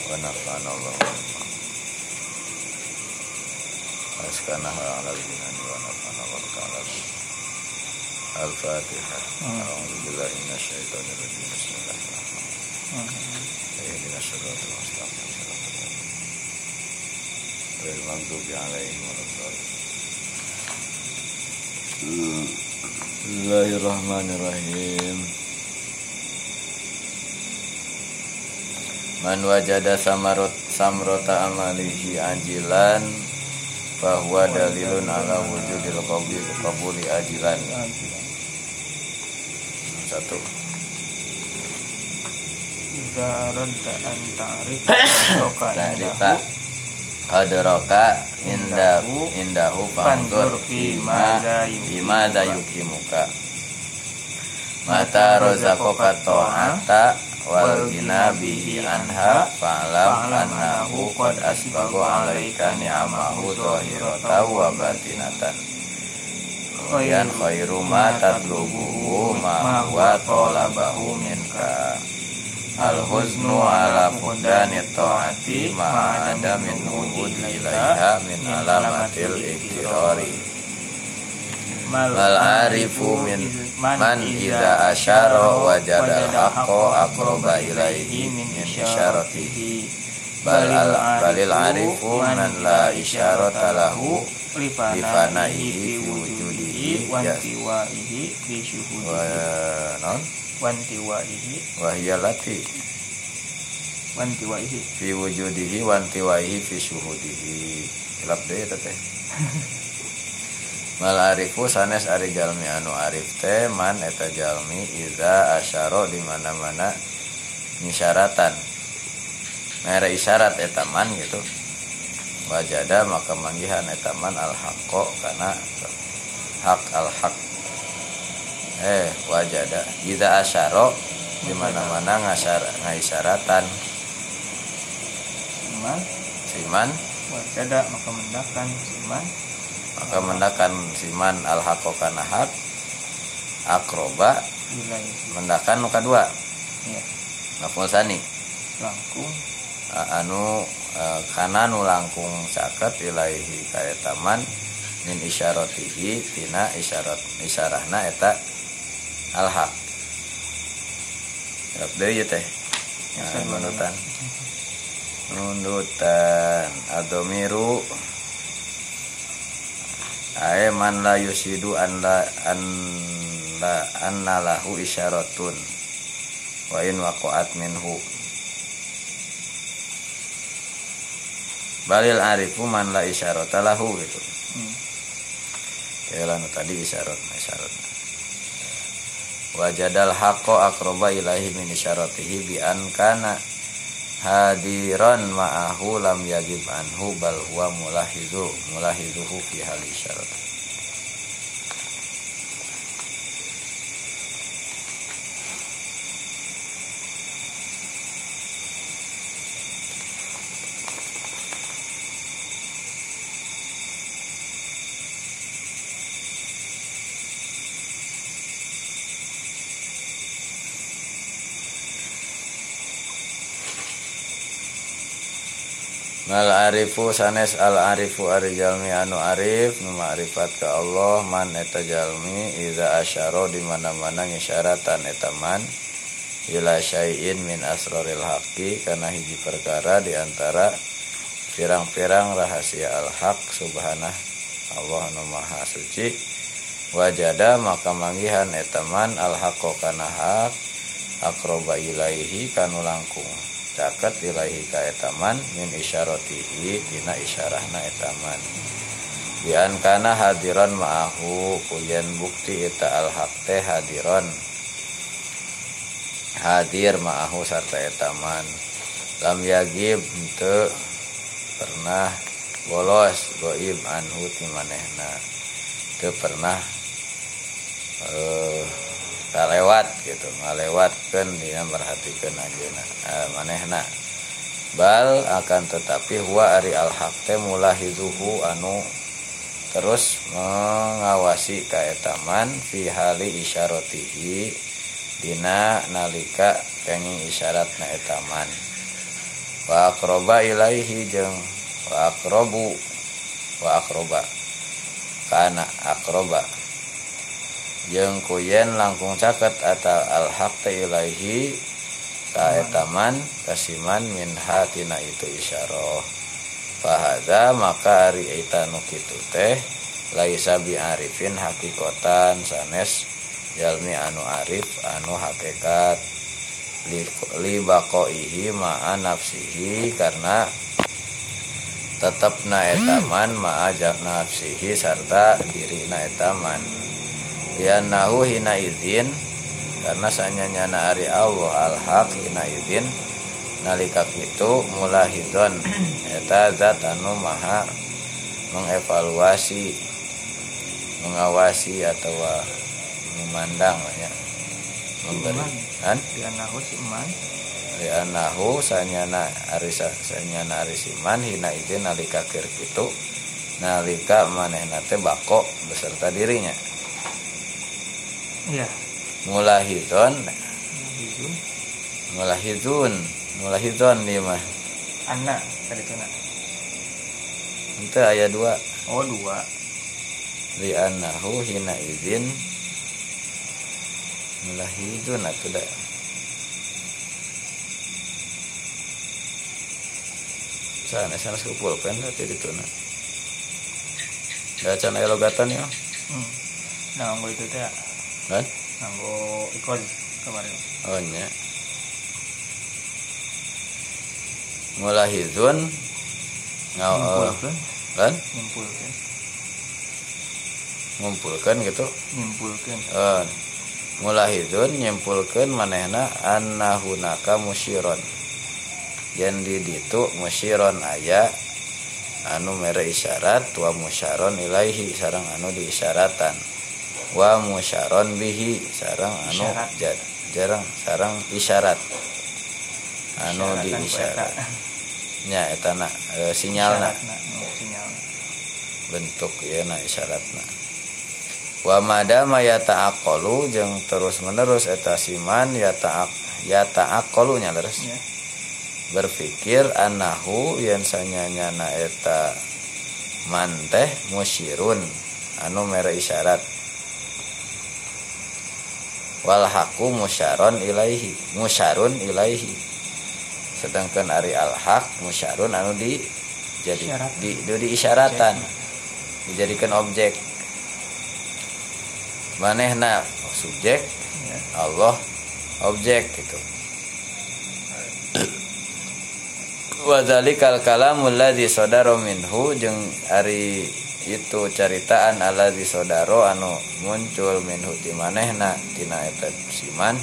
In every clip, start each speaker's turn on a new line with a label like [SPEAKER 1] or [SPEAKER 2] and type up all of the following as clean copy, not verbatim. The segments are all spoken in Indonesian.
[SPEAKER 1] wa nafa'ana Allah askana ala jinani wa nafa'ana wa al-Fatihah. A'udzubillahi minasyaitonir rajim. Bismillahirrahmanirrahim. Ihdinas siratal mustaqim. Ghairil maghdubi 'alaihim waladdallin. Bismillahirrahmanirrahim. Man wajada samrota amalihi ajilan bahwa dalilun ala wujudil qabuli ajilan. Satu.
[SPEAKER 2] Idza radda an ta'rif
[SPEAKER 1] adraka indahu fanzur bima yukimuka mata razaqaka ta'ata wal ginabihi anha fa'lam annahu qad asbagu 'alaika ni'amahu zahiratan wa batinatan. Kemudian khairu ma tatlubuhu ma huwa talabahu minka al-huznu ala fudani ta'ati ma ada min wujudi ilaiha min alamatil iktirari mal arifu min man idza asyara wajadal haqqo aqraba ilaihi min isyaratihi balil arifu man la isyarata lahu lifanaihi fi wujudihi
[SPEAKER 2] wantiwaihi fi syuhudihi
[SPEAKER 1] wahiyalati
[SPEAKER 2] wantiwaihi
[SPEAKER 1] fi wujudihi wantiwaihi fi syuhudihi ilap deh teh. Mal arifu sanes ari jalmi anu arif teh man eta jalmi iza asyara di mana-mana nisyaratan mere isyarat eta man gitu wajada maka manggihan eta man al haqqo kana hak al haq wajada iza asyara di mana-mana ngaisyaratan siman
[SPEAKER 2] wajada maka mendakan siman al haqqo kana hak akroba mendakan nu kadua ya maf'ul tsani langkung
[SPEAKER 1] anu kana nu langkung caket ilaihi ka eta man min isyaratihi tina isyarahna eta al haq rap deui teh nunutan adomiru ae man la yusidu anna lahu isyaratun wa in waqa'at minhu balil arifu man la isyarata lahu gitu. Kayak lanu tadi isyarat. Wajadal haqqo aqraba ilaihi min isyaratihi bi an kana hadiran ma'ahu lam yagib anhu bal huwa mulahizuhu fi hal isyarat. Mal arifu sanes al arifu ari jalmi anu arif nu ma'rifat ka Allah man eta jalmi iza asyara di mana-mana ngisyaratan eta man ila syai'in min asraril haqqi kana hiji perkara di antara pirang-pirang rahasia al haq subhanah Allah anu maha suci wajada maka manggihan eta man al haqqo kana haq aqraba ilaihi kanu langkung caket ilaihi ka etaman min isyaratihi tina isyarahna etaman bian kana hadiran ma'ahu kulian bukti eta al haq teh hadir ma'ahu sarta etaman lam yagib henteu pernah bolos goib anhu ti manehna teu pernah kalewat gitu ngalewatkeun dina merhatikeun ajeuna manehna bal akan tetapi huwa ari al haq teh mulahizuhu anu terus mengawasi ka eta man fi hali isyaratihi dina nalika kenging isyaratna eta man wa aqroba ilaihi jeung wa aqrobu wa aqroba kana aqroba jeung kuyen langkung caket atal alhaq ilaihi ka etaman kasiman min hatina itu isyarah fahadza maka ari eta nu kitu teh laisa bi arifin hakikotan sanes jalmi anu arif anu hakikat li baqaihi ma'a nafsihi karena tetepna etaman ma'a nafsihi sarta dirina etaman liannahu hina izin karena sanyanyana ari Allah al-haq hina izin nalika kitu mulahidon eta zat anu maha mengevaluasi mengawasi atau memandang ya memberi kan lianahu sanyana ari siman hina izin nalika keur kitu nalika manehna teh bako beserta dirinya
[SPEAKER 2] iya
[SPEAKER 1] mulahidun nih mah
[SPEAKER 2] anak tadi kana
[SPEAKER 1] itu aya 2 lianahu hina izin mulahidun atuh da sana kupulkeun teh dituna da can aya logatan ya
[SPEAKER 2] nah nggo itu teh
[SPEAKER 1] kan
[SPEAKER 2] nggo ikon kemarin
[SPEAKER 1] oh nya mulahidun kan ngumpulkeun gitu mulahidun nyimpulkeun manehna annahunaka musyiron yen di ditu musyiron aya anu mere isyarat wa musyaron ilaihi sareng anu diisyaratan wa musyaron bihi sareng anu jarang sareng isyarat anu diisyarat nya eta na sinyalna bentuk ieu na isyaratna wa madama yata'aqqalu jeung terus menerus eta siman yata'aqqalu nya leres ya. Berpikir annahu yen sanyanyana eta man teh musyirun anu mere isyarat wal haqu musyarun ilaihi sedangkan ari al haq musyarun anu diisyaratan dijadikan objek manehna subjek ya. Allah objek gitu wa dzalikal kalamul ladzi sadara minhu jeung ari itu caritaan alladzi sadara anu muncul minhu di manehna tina eta siman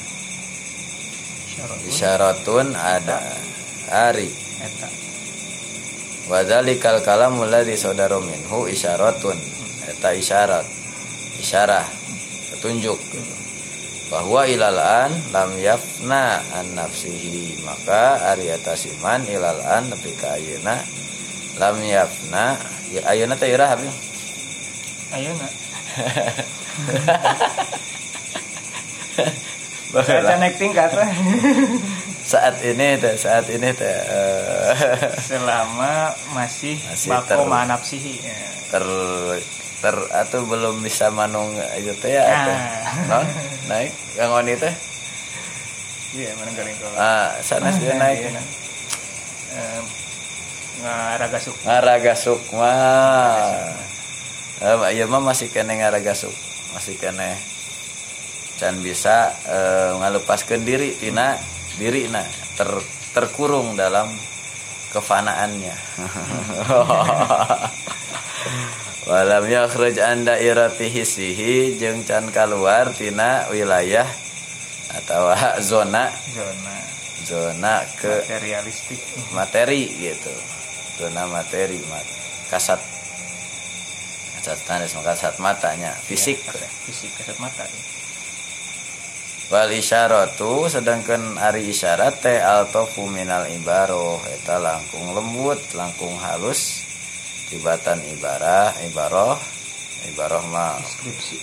[SPEAKER 1] isyaratun ada ari eta wa dzalikal kalamul ladzi sadara minhu isyaratun eta isyarah petunjuk bahwa ilalan lam yafna an nafsihi maka ari eta siman ilalan nepi ka ayeuna lam yafna ya ayeuna teh irah abi
[SPEAKER 2] ayeuna baca naik tingkat
[SPEAKER 1] saat ini teh
[SPEAKER 2] selama masih bako nafsihi
[SPEAKER 1] atau belum bisa manung itu teh ya atau naik gangon itu
[SPEAKER 2] iya manung garing ko
[SPEAKER 1] sanes dia naik ngaragasuk mah ieu mah masih kene ngaragasuk masih kene can bisa ngalepaskeun diri tina dirina terkurung dalam kefanaannya walam yakhruj an dairati hissihi jeung can kaluar tina wilayah atawa zona ke
[SPEAKER 2] materialistik
[SPEAKER 1] materi gitu zona materi kasat matanya fisik
[SPEAKER 2] kasat mata
[SPEAKER 1] wal isyaratu sedangkan ari isyarat teh altofu minal ibaroh eta langkung lembut langkung halus tibatan ibaroh mah
[SPEAKER 2] deskripsi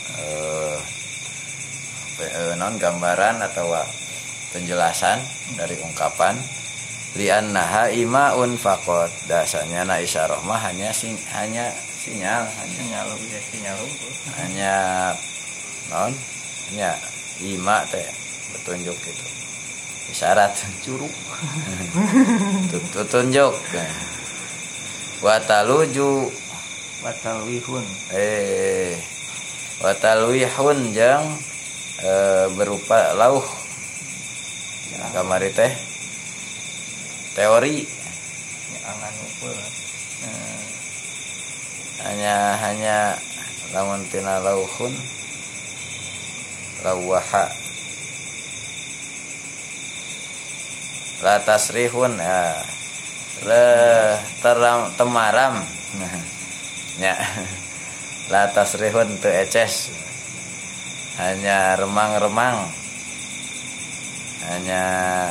[SPEAKER 1] non gambaran atau penjelasan dari ungkapan li'annaha imaun faqat dasarnya na isyarah mah hanya sinyal hanya non hanya ima teh petunjuk gitu isyarat
[SPEAKER 2] curug
[SPEAKER 1] tunjuk watalwihun watalwihun jeung berupa lauh kamari teh teori hanya lamun tina lauhun lawaha la tasrihun temaram ya la tasrihun teu eces hanya remang-remang hanya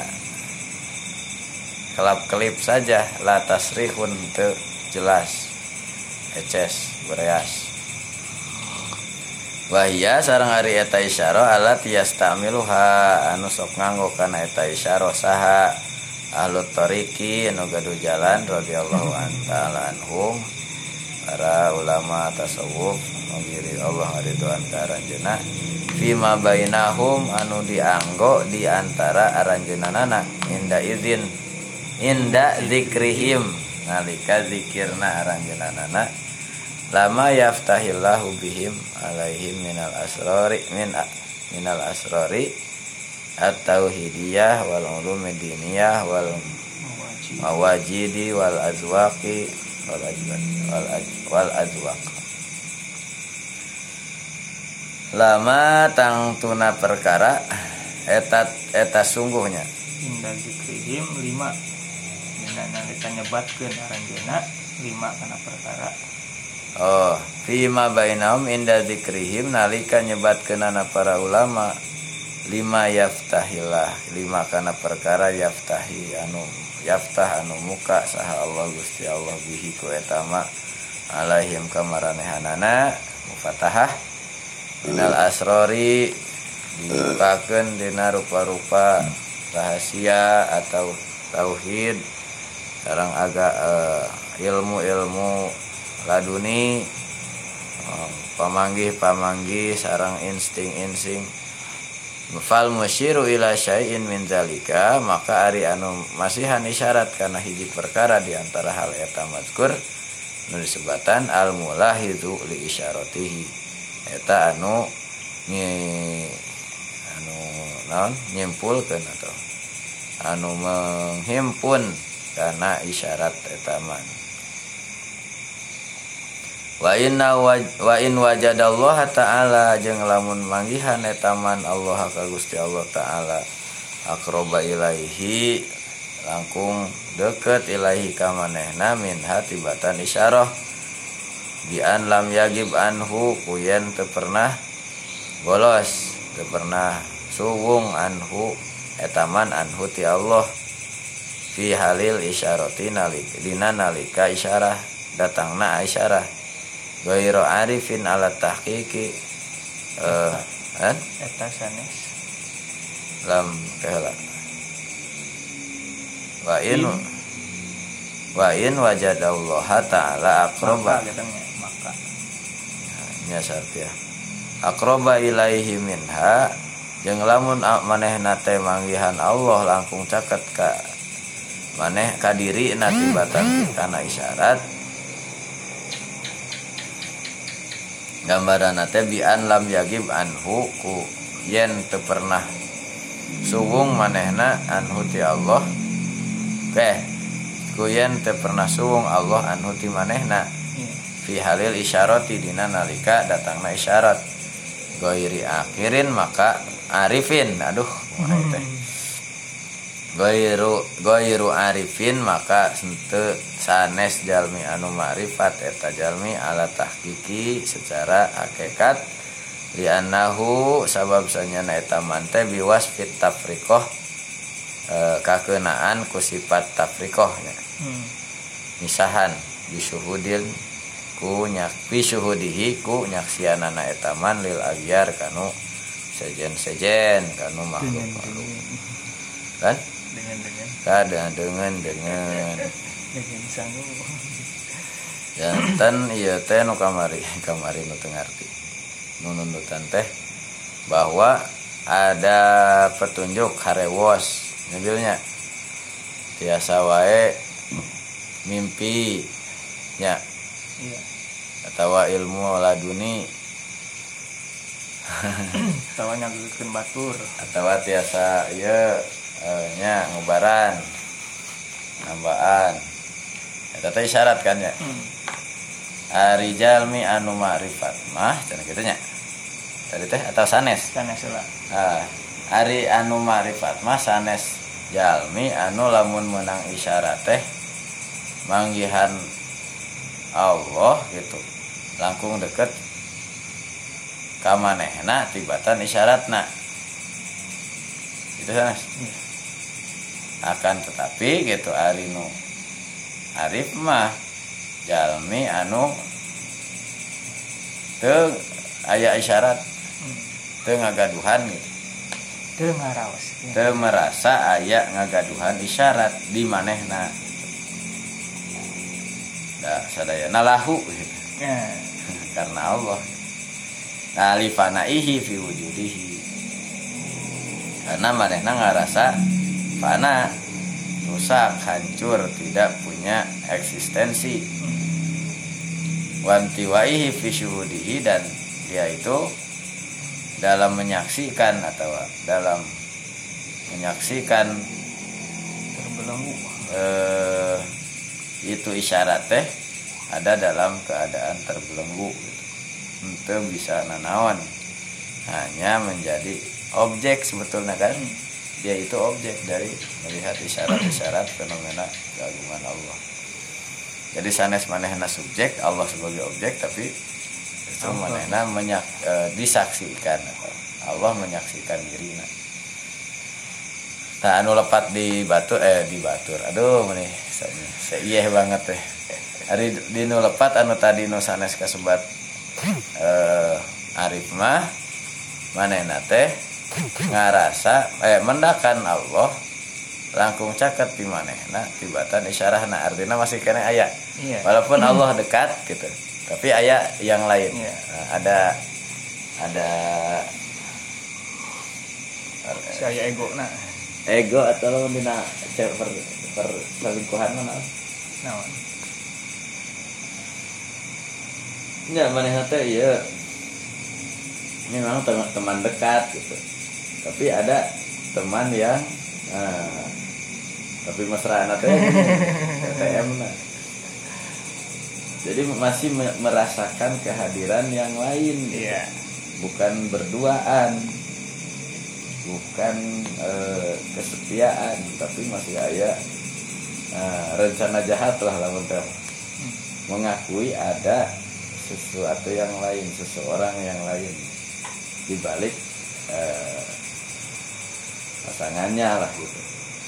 [SPEAKER 1] kelap-kelip saja la tasrihun teu jelas eces bereas wahia sareng ari eta isyarah alat yastamiluha anu sok nganggo kana eta isyarah saha ahlut tariqi anu gaduh jalan radhiyallahu ta'ala anhum para ulama tasawuf ngiri Allah ridwan karanjeunna fima bainahum anu dianggo di antara aranjeunana inda zikrihim nalika zikirna aranjeunana lama yaftahillahu bihim alaihim minal asrari at-tauhidiyah wal ulumid diniyah wal mawajidi wal azwaqi wal azwaq lama tangtuna perkara eta sungguhnya
[SPEAKER 2] inda zikrihim 5 nalika nyebatkeun aranjeunna 5 kana perkara
[SPEAKER 1] fima bainahum inda zikrihim nalika nyebatkeunana para ulama 5 yaftahillah 5 kana perkara yaftahi anu yaftah anu muka saha Allah Gusti Allah bihi ku eta ma alaihim kamaranehanana mufatahah minal asrori dibukakeun dina rupa-rupa rahasia atau tauhid sareng agak ilmu-ilmu laduni pamanggih sareng insting fal musyiru ila syai'in min zalika maka ari anu masihan isyarat kana hiji perkara di antara hal eta mazkur nu disebatan al mulahizu li isyaratihi eta anu nyimpulkeun atau anu menghimpun kana isyarat eta man wa in wajadallaha ta'ala jeung lamun manggihan eta man Allah ka Gusti Allah taala aqraba ilaihi langkung deket ilaihi ka manehna min hatibatan isyarah bi an lam yagib anhu kuyen teu pernah bolos teu pernah suwung anhu eta man anhu ti Allah fi halil isyarati nalika isyarah datangna isyarah Gairo arifin ala tahqiqi
[SPEAKER 2] eta sanes
[SPEAKER 1] lam kahela wa in wajadallaha ta'ala aqraba
[SPEAKER 2] maka
[SPEAKER 1] nya sartia aqraba ilaihi minha jeung lamun manehna teh manggihan Allah langkung caket ka maneh ka dirina tibatan kana isyarat gambaran teh bi an lam yagib anhu ku yen teu pernah suwung manehna anhu ti Allah ku yen teu pernah suwung Allah anhu ti manehna fi halil isyarati dina nalika datangna isyarat ghairi akhirin maka arifin teh Goiru arifin maka henteu sanes jalmi anu ma'rifat eta jalmi ala tahqiqi secara hakikat li'annahu sabab sanyana eta mante biwasfit tafriqah kakeunaan ku sifat tafriqah nya misahan bisyuhudil ku nyak bisyuhudihi ku nyaksianana eta man lil agyar kanu sejen kanu makhluk kan dengan sanggup jantan ieu teh nu kamari nu teu ngarti nu nuntutan teh bahwa ada petunjuk harewos ngebilnya tiasa wae mimpi nya iya atawa ilmu laduni
[SPEAKER 2] atawa nyagikeun batur
[SPEAKER 1] atawa tiasa ieu nya ngubaran nambaan eta teh isyarat kan ya ari jalmi anu ma'rifat mah cenah kitu nya tadi teh atau sanes
[SPEAKER 2] lah
[SPEAKER 1] ari anu ma'rifat mah sanes jalmi anu lamun menang isyarat teh manggihan Allah gitu langkung deket ka manehna tibatan isyaratna itu sanes akan tetapi gitu ari nu arif mah jalmi anu teu aya isyarat teu ngagaduhan gitu
[SPEAKER 2] teu ngaraos
[SPEAKER 1] teu merasa aya ngagaduhan isyarat di manehna da sadayana lahu gitu. Karena Allah alifanaihi fi wujudihi karena manehna ngarasa fana rusak hancur tidak punya eksistensi wantiwaihi fi syuhudihi dan dia itu dalam menyaksikan atau dalam menyaksikan
[SPEAKER 2] terbelenggu
[SPEAKER 1] itu isyarat teh ada dalam keadaan terbelenggu gitu. Itu bisa nanaon hanya menjadi objek sebetulnya kan dia itu objek dari melihat isyarat-isyarat fenomena keagungan Allah. Jadi sanes manehna subjek, Allah sebagai objek, tapi justru manehna disaksikan atau Allah menyaksikan dirinya. Nah anu lepat di batur. Aduh meneh seieh banget teh. Ari di nu lepat anu tadi nu sanes kasebat arif mah manehna teh ngarasa mendakan Allah langkung caket di manehna tibatan isyarahna artinya masih kena aya iya. Walaupun Allah dekat gitu tapi aya yang lain iya. Ada
[SPEAKER 2] saya
[SPEAKER 1] ego atau dina perselingkuhan mana
[SPEAKER 2] naon
[SPEAKER 1] nya manehna teh ieu memang teman dekat gitu tapi ada teman yang tapi mesra teh TM nah. Jadi masih merasakan kehadiran yang lain
[SPEAKER 2] iya.
[SPEAKER 1] Bukan berduaan bukan kesetiaan tapi masih ada rencana jahat lah lamun teh mengakui ada sesuatu yang lain seseorang yang lain di balik pasangannya lah gitu.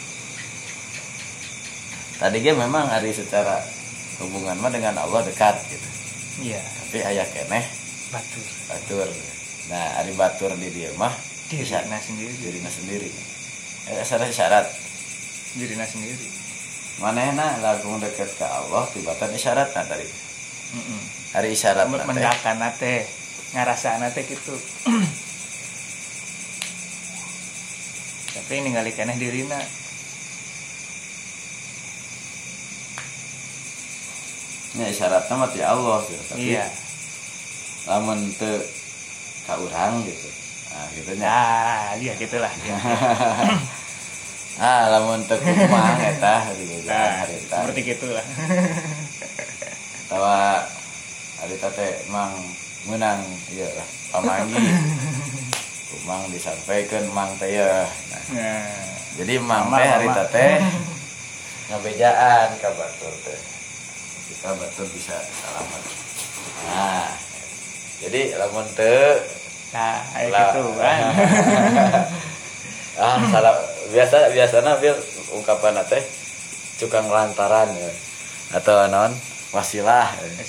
[SPEAKER 1] Tadi ge memang hari secara hubungan mah dengan Allah dekat gitu.
[SPEAKER 2] Iya.
[SPEAKER 1] Tapi aya keneh batur. Nah, ari batur di dieu mah
[SPEAKER 2] dirina
[SPEAKER 1] sendiri. Asal syarat
[SPEAKER 2] dirina sendiri.
[SPEAKER 1] Manehna lagung deket ke Allah tibatan isyaratna tadi. Hari isyarat
[SPEAKER 2] mendakan teh ngarasana teh kitu. Tapi ningali keneh dirina.
[SPEAKER 1] Ya isyaratna mah ti Allah gitu. Tapi
[SPEAKER 2] iya.
[SPEAKER 1] Lamun teu ka urang gitu. Nah, gitu nya.
[SPEAKER 2] Iya gitulah.
[SPEAKER 1] Lamun teu kumaha eta gitu.
[SPEAKER 2] Seperti gitulah.
[SPEAKER 1] Tawa harita teh mang meunang ieu lah pamanggi. Mang disampaikan mang teh ya. Nah, jadi mang teh harita teh ngabejaan ka batur teh. Kita batur bisa selamat. Nah, jadi lamun teu
[SPEAKER 2] aya kitu kan.
[SPEAKER 1] Salah biasana bil ungkapan teh cukang lantaran ya. Atau naon wasilah.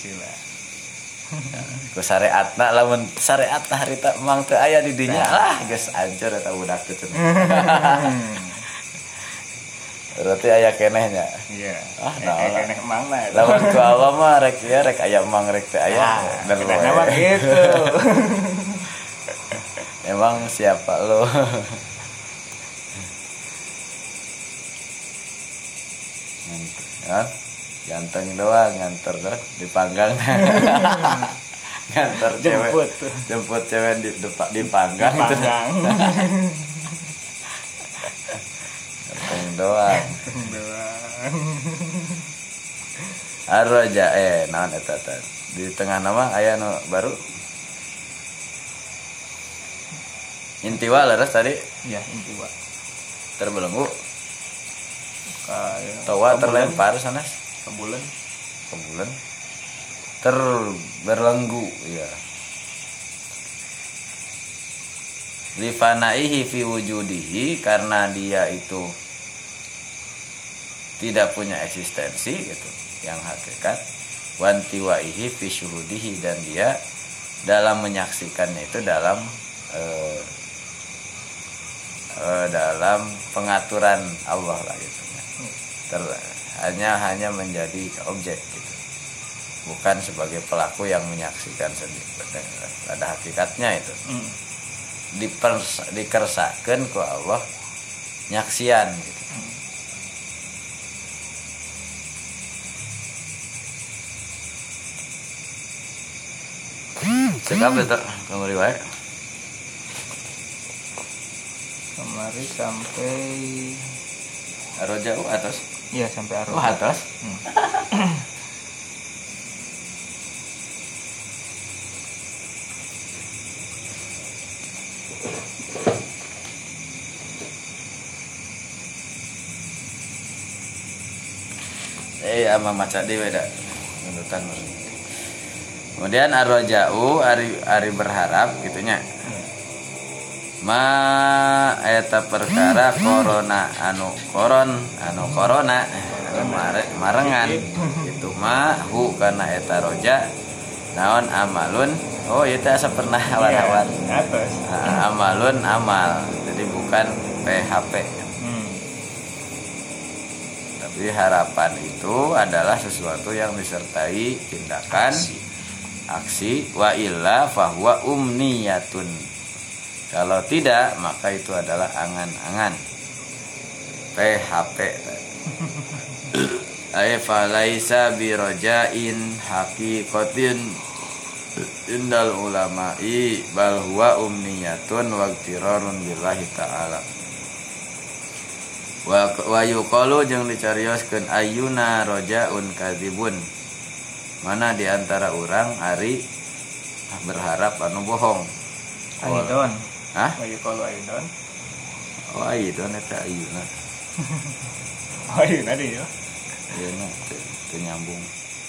[SPEAKER 1] Ku syariatna lamun syariatna harita mang teu aya di dinya lah geus hancur eta budak teh. Berarti aya kenehnya.
[SPEAKER 2] Iya.
[SPEAKER 1] Keneh
[SPEAKER 2] emang mah.
[SPEAKER 1] Lawan ku Allah mah rek aya emang rek teh aya.
[SPEAKER 2] Kenapa gitu?
[SPEAKER 1] Emang siapa lo? Ya, ganteng doang nganter dah dipanggang. Nganter jemput cewek dipanggang itu. Ganteng doang. Arroja naon eta teh. Di tengah nama aya nu baru. Intiwa leres tadi?
[SPEAKER 2] Iya, intiwa.
[SPEAKER 1] Terbelenggu. Tawa terlempar sanes
[SPEAKER 2] ke bulan.
[SPEAKER 1] Terberlenggu ya. Lifanaihi fi wujudihi, karena dia itu tidak punya eksistensi gitu, yang hakikat. Wantiwaihi fi syuhudihi, dan dia dalam menyaksikannya itu dalam dalam pengaturan Allah lah gitu. Hanya menjadi objek gitu, bukan sebagai pelaku yang menyaksikan sendiri. Pada hakikatnya itu dikersakeun ku Allah nyaksian gitu. Sekap itu kamari wae.
[SPEAKER 2] Kemari sampai
[SPEAKER 1] Arroja atas.
[SPEAKER 2] Iya, sampai Arroja.
[SPEAKER 1] Oh, atas. Ama maca dewe da nudutan. Kemudian arroja'u ari berharap gitunya. Ma eta perkara corona anu marengan itu mah hu kana eta roja naon amalun. Oh itu asa pernah awan-awan amalun amal, jadi bukan PHP. Tapi harapan itu adalah sesuatu yang disertai tindakan aksi, wa illa fahuwa umniyatun. Kalau tidak, maka itu adalah angan-angan. PHP. Falaisa birojain haqiqatin indal ulama'i bal huwa umniyatun wa iqtirarun billahi ta'ala. Wa yuqalu jeung dicarioskeun ayyuna rojaun kadzibun. Mana di antara urang ari berharap anu bohong.
[SPEAKER 2] Aidon.
[SPEAKER 1] Hah?
[SPEAKER 2] Wa yuqalu aidon.
[SPEAKER 1] Oh aidon eta ayyuna.
[SPEAKER 2] Ayyuna deui ya.
[SPEAKER 1] Ayeuna teu nyambung.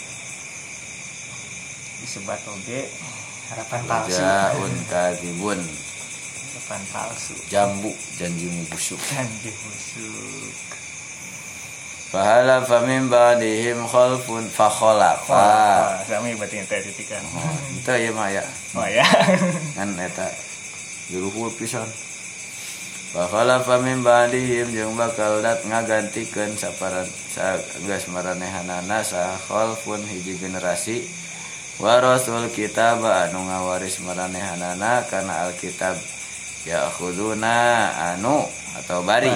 [SPEAKER 2] Disebat oge harapan palsu.
[SPEAKER 1] Rojaun kadzibun.
[SPEAKER 2] Harapan palsu.
[SPEAKER 1] Jambu janjimu busuk.
[SPEAKER 2] Janji busuk.
[SPEAKER 1] Fahala famin ba'dihim khalfun fakhalafa.
[SPEAKER 2] Sami berarti teh titikan.
[SPEAKER 1] Itu ya mah ya.
[SPEAKER 2] Oh ya.
[SPEAKER 1] Kan eta juruhul pisan. Fakhalafa min ba'dihim jeung bakal dat ngagantikeun saparan geus maranehanana sa khalfun hiji generasi warasul kitab anu ngawaris maranehanana kana alkitab ya'khuduna anu atau bari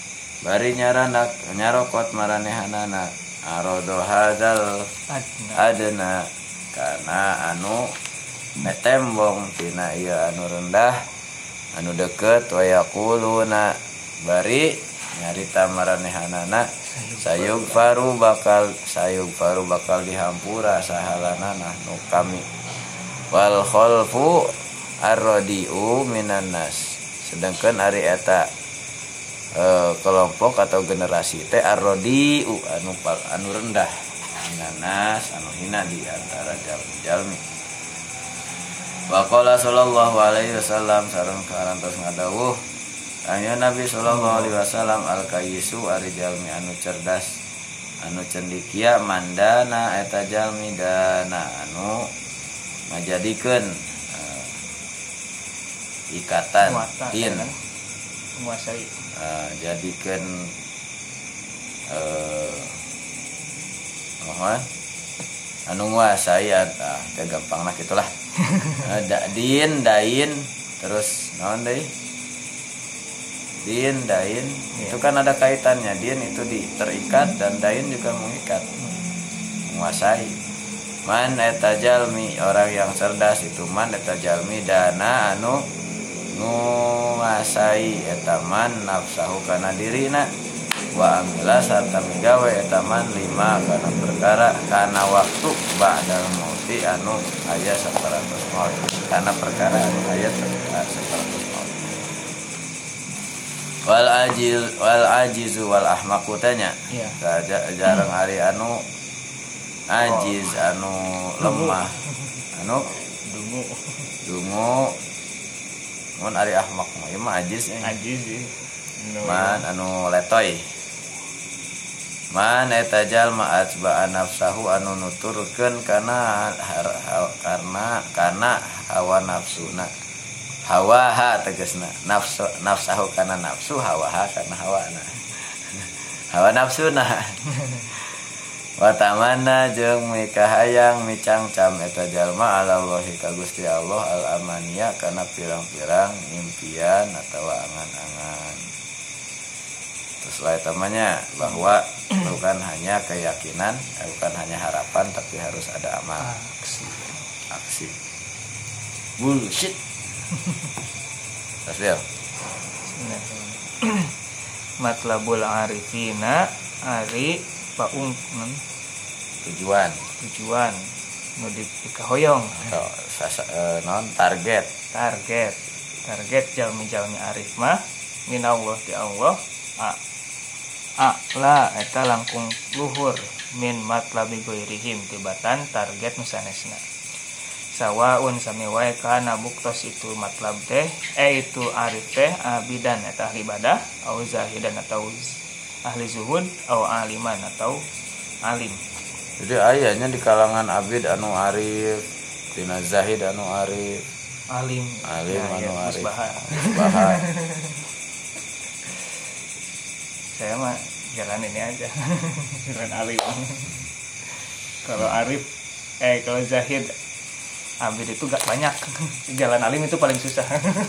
[SPEAKER 1] nyarokot maranehanana arodo hadzal adna kana anu metembong tina ieu anu rendah anu deket wa yaquluna bari nyarita maranehanana sayug faru bakal dihampura sahalanana nu kami wal khalfu arradiu minan nas, sedangkan ari eta kelompok atau generasi teh arrodiu anu rendah minanas anu hina di antara jalmi. Wa qala sallallahu alaihi wasallam sareng karantos ngadawuh anya Nabi sallallahu alaihi wasallam al kayyisu ari jalmi anu cerdas anu cendikia mandana eta jalmi dana anu ngajadikeun ikatan tin menguasai jadikan mohon anu nguasai teh gampangna gitulah. Din dain terus naon deui din dain itu kan ada kaitannya. Din itu terikat dan dain juga mengikat, menguasai. Man eta jalmi orang yang cerdas itu man eta jalmi dana anu nguasai eta man nafsahu kana dirina wa amila sarta migawe eta man lima kana perkara kana waktu ba'dal mauti anu aya saparatos maut kana perkara anu aya saparatos maut. Wal ajizu wal ahmaqu tanya jarang ari anu ajiz anu lemah anu dungu mun ari ahmaq mah ieu mah ajiz man anu letoy. Man eta jalma atba'a nafsahu anu nuturkeun kana hawa nafsuna. Hawaha tegasna nafsahu kana nafsu, hawaha kana hawana. Hawa nafsuna. Wa tamanna jeung mikahayang micangcam eta jalma alallahi ka Gusti Allah al amaniya kana pirang-pirang impian atawa angan-angan. Terus lain tamanya bahwa bukan hanya keyakinan, bukan hanya harapan, tapi harus ada amal, aksi. Bullshit. Tasbih.
[SPEAKER 2] Matlabul arifina ari paung
[SPEAKER 1] tujuan
[SPEAKER 2] nu dikahoyong
[SPEAKER 1] non target
[SPEAKER 2] jalmi arif mah minallah ti Allah la eta langkung luhur min matlabi ghairihim tibatan target nu sanesna sawaun sami wae kana buktos itu matlab teh itu arif teh abidan eta ahli ibadah au zahidan atau ahli zuhud au aliman atau alim.
[SPEAKER 1] Jadi ayahnya di kalangan abid anu arif, tina zahid anu arif,
[SPEAKER 2] alim
[SPEAKER 1] anu arif,
[SPEAKER 2] musbahar. Saya mah jalan ini aja. Jalan alim. Kalau arif kalau zahid abid itu gak banyak. Jalan alim itu paling susah.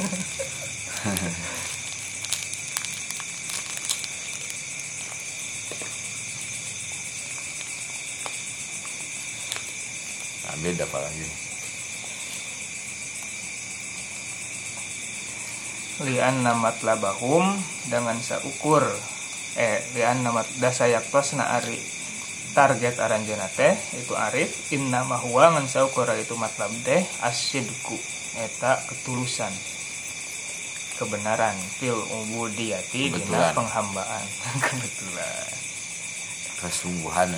[SPEAKER 1] Beda apa lagi?
[SPEAKER 2] Lian namat labahum dengan seukur lian namat dasayaktos na ari target aranjeuna teh itu arif inna mahwa ngan seukur itu matlab teh asyidku eta ketulusan kebenaran fil ubudiyati dina penghambaan. Kebetulan
[SPEAKER 1] kesungguhan.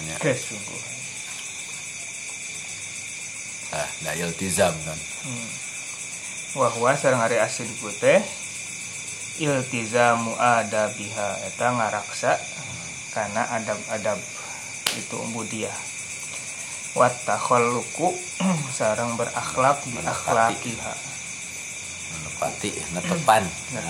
[SPEAKER 1] Da iltizam kan.
[SPEAKER 2] Wahwa sareng ari asyidku teh iltizamu adabiha eta ngaraksa kana adab-adab itu ubudiyah. Wat takhalluqu sareng berakhlak bi akhlaqiha.
[SPEAKER 1] Netepan.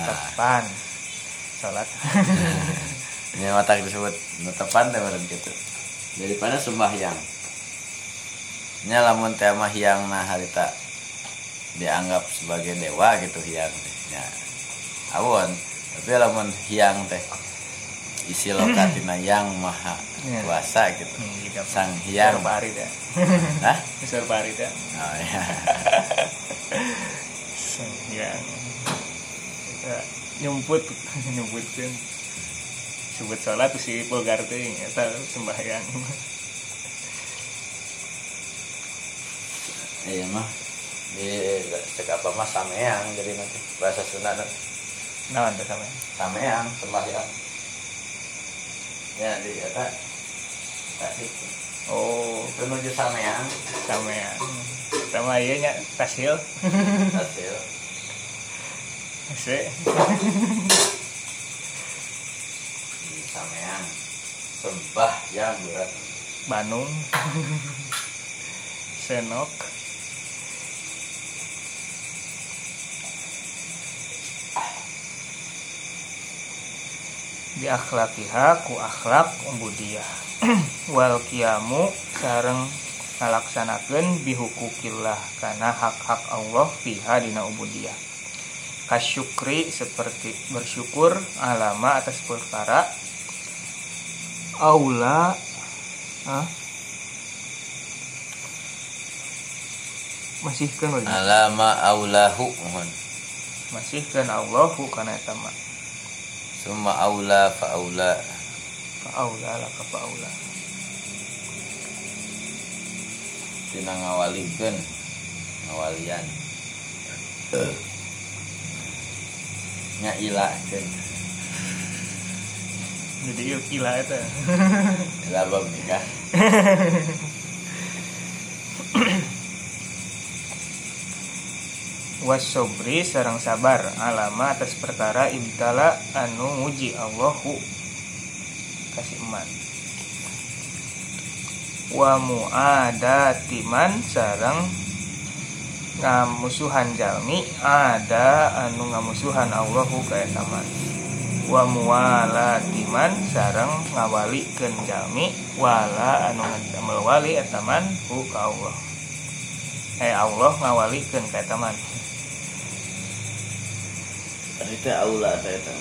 [SPEAKER 2] Salat.
[SPEAKER 1] Ini mata disebut netepan teh bareng kitu. Daripada sembahyang. Nya lamun teh mah hiangna harita dianggap sebagai dewa gitu hiang teh nya awon, tapi lamun hiang teh isi lokatina yang maha kuasa gitu sang hiang
[SPEAKER 2] pari teh besar pari teh
[SPEAKER 1] oh iya
[SPEAKER 2] sang hiang kita nyumputkeun sebut salat si pulgar teh eta sembahyang.
[SPEAKER 1] Iya mah di cek apa mah sameang jadi nanti bahasa Sunda
[SPEAKER 2] naon teh
[SPEAKER 1] sameang sembahyang ya di eta tasik itu nuju sameang
[SPEAKER 2] sama ieu nya tasil
[SPEAKER 1] sameang sembah yang berat
[SPEAKER 2] Bandung senok bi akhlaqiha ku akhlak ubudiyah wal qiyamu sareng ngalaksanakeun bi hukukillah kana hak-hak Allah fiha dina ubudiyah kasyukri seperti bersyukur alama atas perkara aula masihkeun lagi
[SPEAKER 1] alama aulahu mohon
[SPEAKER 2] masihkeun Allahu kana eta mah
[SPEAKER 1] summa aula fa aula
[SPEAKER 2] laka fa aula
[SPEAKER 1] tina ngawalikeun ngawalian nya ilakeun
[SPEAKER 2] jadi ila eta
[SPEAKER 1] ila bab nikah
[SPEAKER 2] wasobri sareng sabar alama atas perkara ibtala anu nguji Allahu kasih eman wa muadatiman sareng ngamusuhan jalmi ada anu ngamusuhan Allahu ka eta man wa muwalatiman sareng ngawalikeun jalmi wala anu ngadamel wali eta man ku ka Allah Allah ngawalikeun ka eta man
[SPEAKER 1] eta aula eta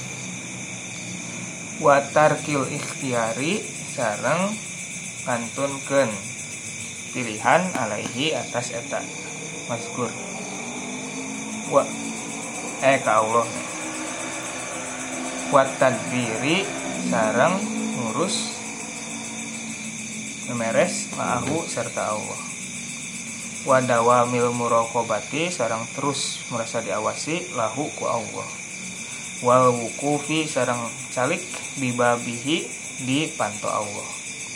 [SPEAKER 2] wa tarkil ikhtiyari sareng ngantunkeun pilihan alaihi atas eta mazkur wa ka Allah wa tadbiri sareng ngurus memeres ma'ahu serta Allah wa dawamil muraqabati sareng terus merasa diawasi lahu ku Allah wal wuqufi sareng calik bibabihi di panto Allah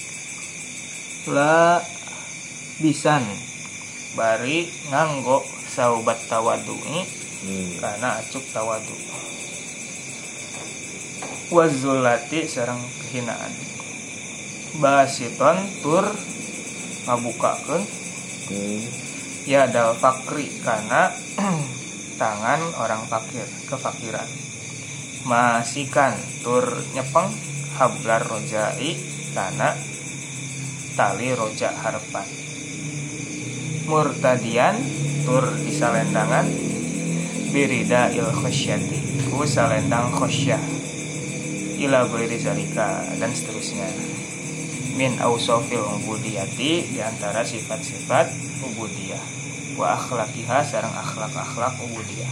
[SPEAKER 2] la bisan bari nganggo saubat tawadu'i karena acuk tawadu wazulati sareng kehinaan basiton tur ngabukakeun ya dal fakri karena tangan orang fakir kefakiran masikan tur nyepeng hablar rojai karena tali rojak harapan murtadian tur disalendangan birida il khosyati ku salendang khosyah ila ghairi zalika dan seterusnya min ausofil ubudiyati diantara sifat-sifat ubudiyah wa akhlaqiha sareng akhlak-akhlak ubudiyah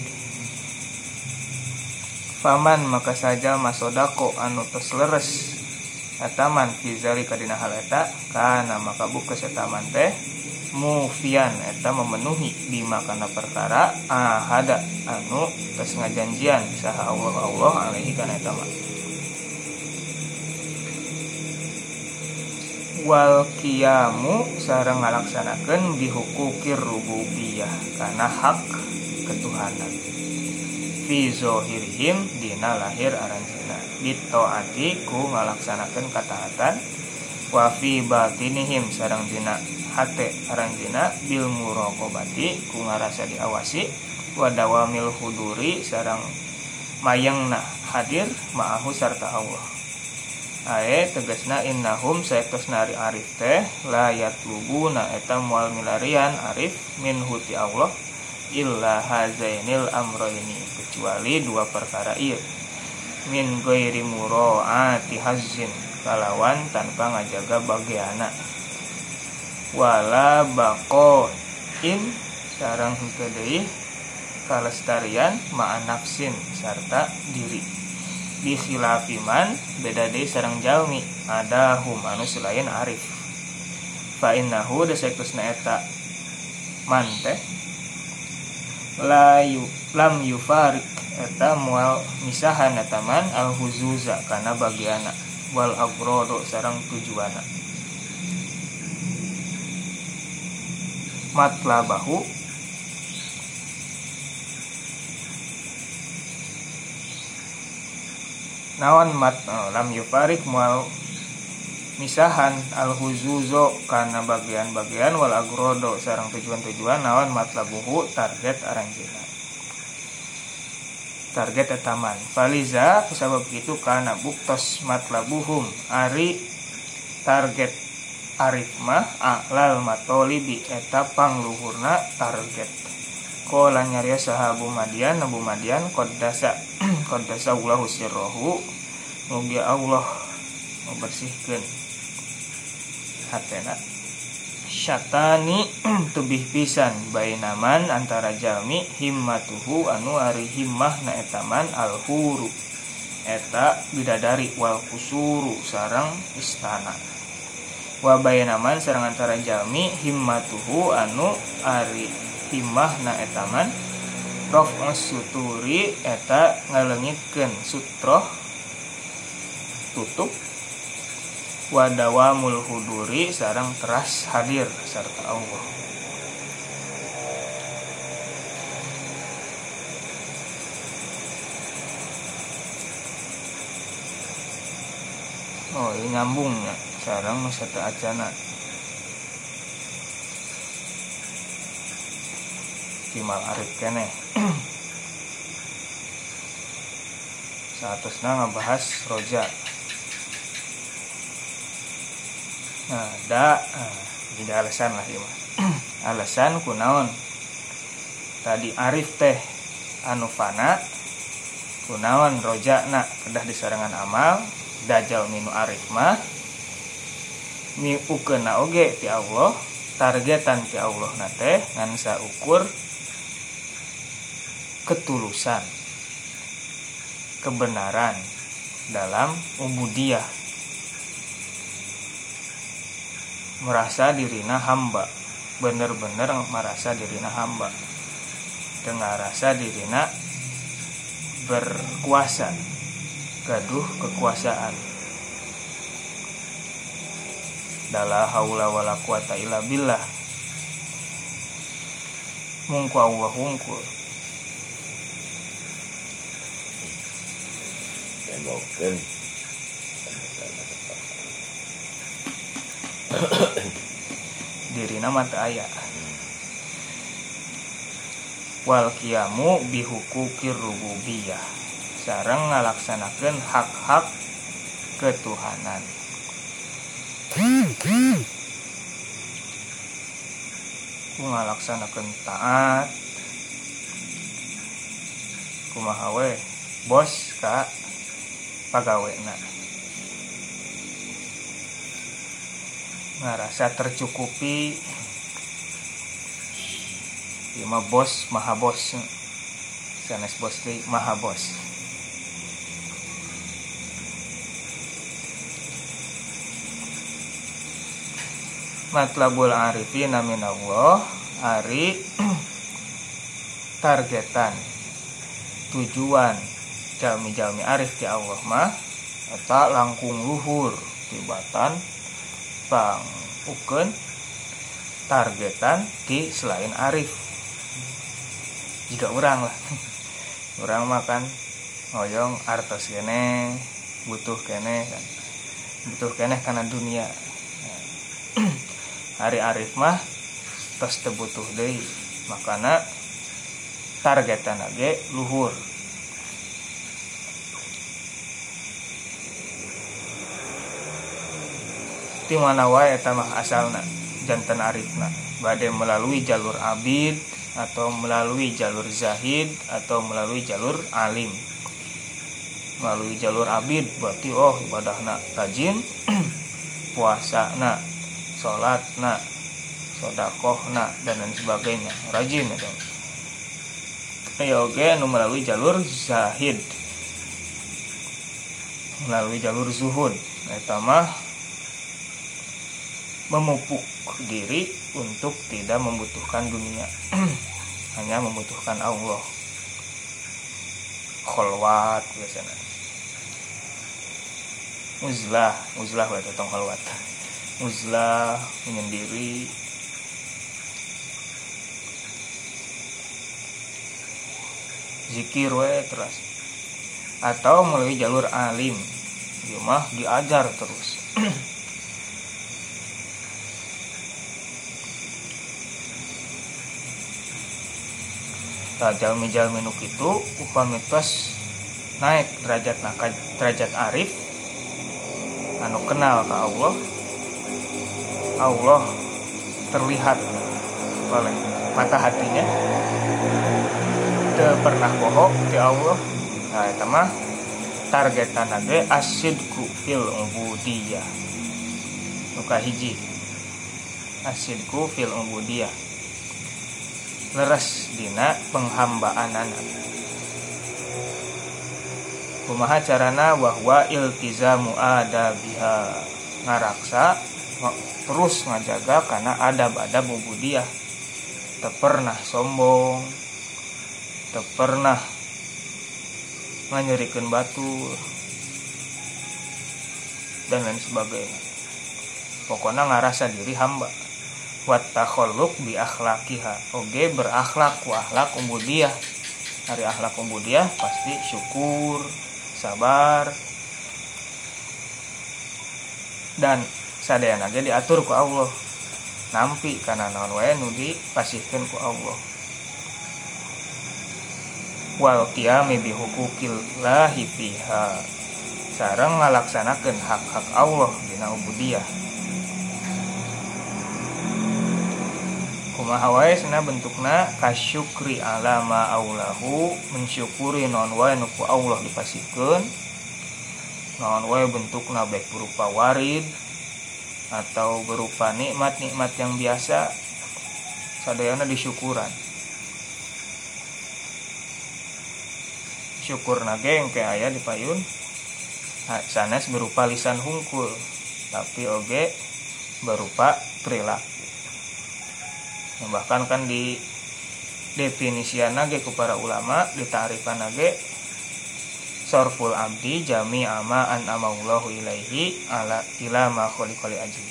[SPEAKER 2] faman maka saja masodako anu tos leres ataman fi zalika dina hal eta kana maka bukeus eta man teh mufian eta memenuhi bima kana perkara ahada anu tos ngajanjian saha Allah alaihi kana eta mah wal qiyamu sareng ngalaksanakeun bihukukir rububiyah kana hak ketuhanan fi zohirihim dina lahir aranjeunna bitaati ku ngalaksanakeun kataatan wa fi batinihim sareng dina hate aranjeunna bil muraqabati ku ngarasa diawasi wa dawamil huduri sareng mayengna hadir ma'ahu sarta Allah ae tegasna innahum saektosna arif teh la yatlubuna eta moal milarian arif min huti Allah illa hazainil amroini kecuali dua perkara ieu min ghairi muraati hazzin kalawan tanpa ngajaga bagiana wala baqain sareng henteu deui kalestarian ma'a nafsin sarta diri bi khilafiman beda deui sareng jalmi ada hum anu selain arif fa innahu dasaektosna eta man teh lam yufarik eta moal misahan eta man al huzuza kana bagiana wal agrodo sareng tujuana matlabahu naon lam yufarik moal misahan al huzuzo kana bagian-bagian wal agrodo sareng tujuan-tujuan naon matlabuhu target aranjeunna target etaman. Faliza kusabab kitu kana buktos matlabuhum ari target arif mah a'lal matolibi eta pangluhurna target. Qala nyariya sahabu Madian Nabu Madian qaddasa Allahu sirrahu mugi Allah membersihkeun hatena syatani tubih pisan bainaman antara jalmi himmatuhu anu ari himmahna etaman alhuru eta bidadari wal kusuru sareng istana wa bainaman sareng antara jalmi himmatuhu anu ari himmahna etaman raf'us suturi eta ngaleungitkeun sutroh tutup wadawamul huduri sareng teras hadir sarta Allah. Oh, ini nyambungnya sareng sarta acana. Timal arif keneh. Saatosna ngabahas roja. Nah, jadi alasan lah ya. Alasan kunaon tadi arif teh anu fana kunaon rojana kedah disarangan amal dajal minu arif mah mi ukeuna oge ti Allah targetan ti Allah nate ngan saukur ketulusan kebenaran dalam ubudiyah merasa dirina hamba bener-bener merasa dirina hamba dengan rasa dirina berkuasa gaduh kekuasaan dala haula wala quwata illa billah mungku Allah hungkul
[SPEAKER 1] tembokkeun
[SPEAKER 2] dirina mata aya wal qiyamu bihukukir rububiyah sareng ngalaksanakeun hak-hak ketuhanan ku ngalaksanakeun taat kumaha we bos ka pagawena ngarasa tercukupi ieu mah bos maha bos sanes bos teh maha bos matlabul arifina minallah ari targetan tujuan jalmi-jalmi arif ti Allah mah eta langkung luhur tibatan pang ukeun targetan ti selain arif jika urang lah urang makan ngoyong artos kene butuh kene kana dunia hari arif mah tos teu butuh deui makana targetan ge luhur ti mana wae eta mah asalna janten arifna bade melalui jalur abid atau melalui jalur zahid atau melalui jalur alim. Melalui jalur abid berarti ibadahna rajin, puasana, salatna, sedekahna dan lain sebagainya rajin eta. Oke anu melalui jalur zahid, melalui jalur zuhud eta mah memupuk diri untuk tidak membutuhkan dunia, hanya membutuhkan Allah. Kholwat biasanya. Uzlah berarti tong kholwat. Uzlah menyendiri. Zikir we terus. Atau melalui jalur alim. Dia mah diajar terus. tah jalmi-jalmi nu kitu upami tos naik derajat arif anu kenal ka Allah terlihat oleh mata hatinya, teu pernah bohong ti Allah. Nah eta mah targetan ge asidku fil ubudiyah. Nu kahiji asidku fil ubudiyah, leres dina penghambaanana. Kumaha carana bahwa iltizamu adabiha, ngaraksa terus ngajaga karena adab-adab ubudiyah. Teu pernah sombong, teu pernah nganyerikeun batur dan lain sebagainya. Pokoknya ngarasa diri hamba. Wat takhalluq bi akhlaqiha, oge berakhlak ku akhlak ubudiyah. Ari akhlak ubudiyah pasti syukur, sabar, dan sadayana ge diatur ku Allah, nampi kana naon wae nu dipasihkeun ku Allah. Wal qiyami bi huquqillahi fiha, sareng ngalaksanakeun hak-hak Allah dina ubudiyah. Kumaha wae cenah bentukna kasyukri ala ma aulahu, mensyukuri naon wae nu ku Allah dipasihkeun, naon wae bentukna baik berupa warid atau berupa nikmat-nikmat yang biasa, sadayana disyukuran. Syukur nage engke aya di payun sanes berupa lisan hungkul, tapi oge berupa perilaku. Bahkan kan di definisian nage ku para ulama, ditarifan nage sorful abdi jami ama an amallahu ilaihi ala ila ma kholiqali ajli,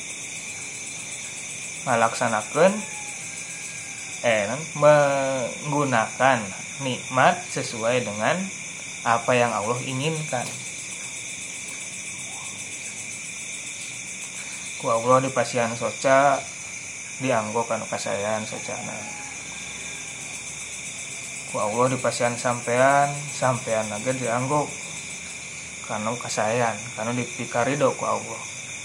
[SPEAKER 2] ngalaksanakeun menggunakan nikmat sesuai dengan apa yang Allah inginkan. Ku Allah dipasihan soca dianggo kanu kasayan socana. Ku Allah dipasihan sampean nage dianggo kanu kasayan, kanu dipikarido ku Allah.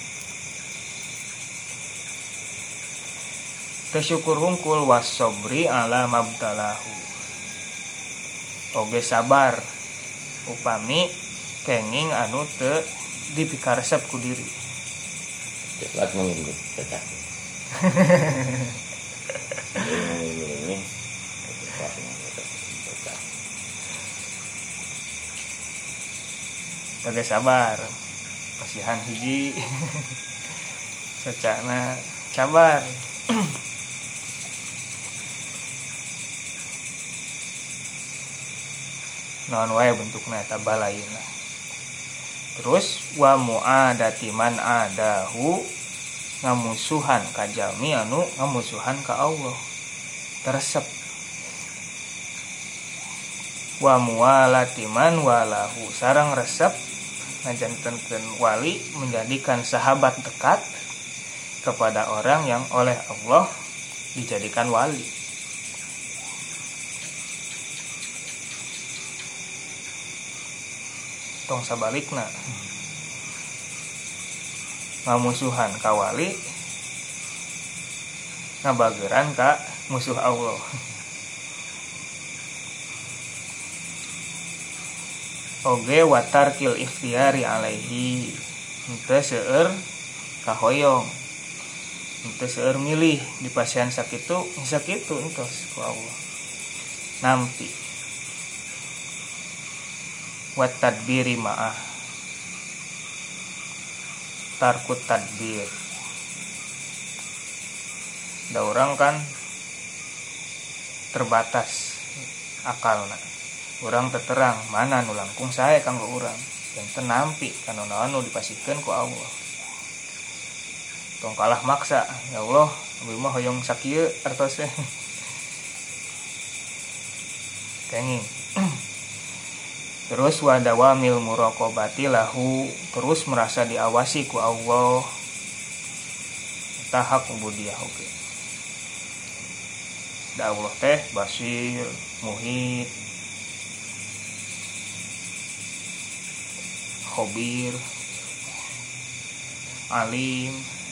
[SPEAKER 2] Tersyukur hungkul wasobri ala mabtalahu, oge sabar upami kenging anu teu dipikaresep ku diri.
[SPEAKER 1] Cepat mengimbi cecak. Ini
[SPEAKER 2] oge sabar, pasihan hiji secana sabar. Naon wae bentukna eta balayeuna. Terus wa muadati man adahu, ngamusuhan ka jalmi anu ngamusuhan ka Allah, teresep. Wa muwalati man walahu, sareng resep ngajantenkeun wali, menjadikan sahabat dekat kepada orang yang oleh Allah dijadikan wali. Tong sabalikna, ngamusuhan ka wali, ngabageran ka musuh Allah. Oge watarkil ikhtiyari alaihi, henteu seueur kahoyong, henteu seueur milih dipasihan sakitu entos ku Allah. Nampi wat tadbiri ma'ah, tarkut tadbir. Da urang kan terbatas akalna, urang terterang mana nu langkung sae kanggo urang, yang tenampi kana naon nu dipasihkeun ku Allah. Tong kalah maksa, ya Allah abdi mah hoyong sakieu artosna kenging. Terus wadawamil muraqabati lahu, terus merasa diawasi ku Allah, tahap ubudiyah oge. Da Allah teh basir muhit, khobir, alim.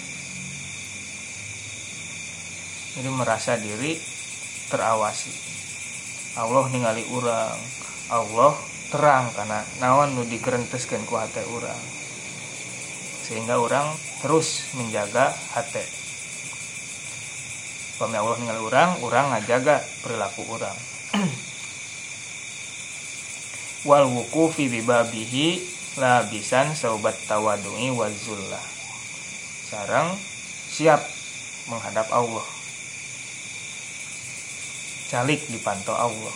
[SPEAKER 2] Jadi merasa diri terawasi. Allah ningali urang, Allah terang karena naon nu digerenteskeun ku hate urang, sehingga orang terus menjaga hate. Pami Allah ningali urang ngajaga perilaku urang. Wal wuqufi bi babihi labisan saubat tawadui wazullah. Sareng siap menghadap Allah, calik dipantau Allah.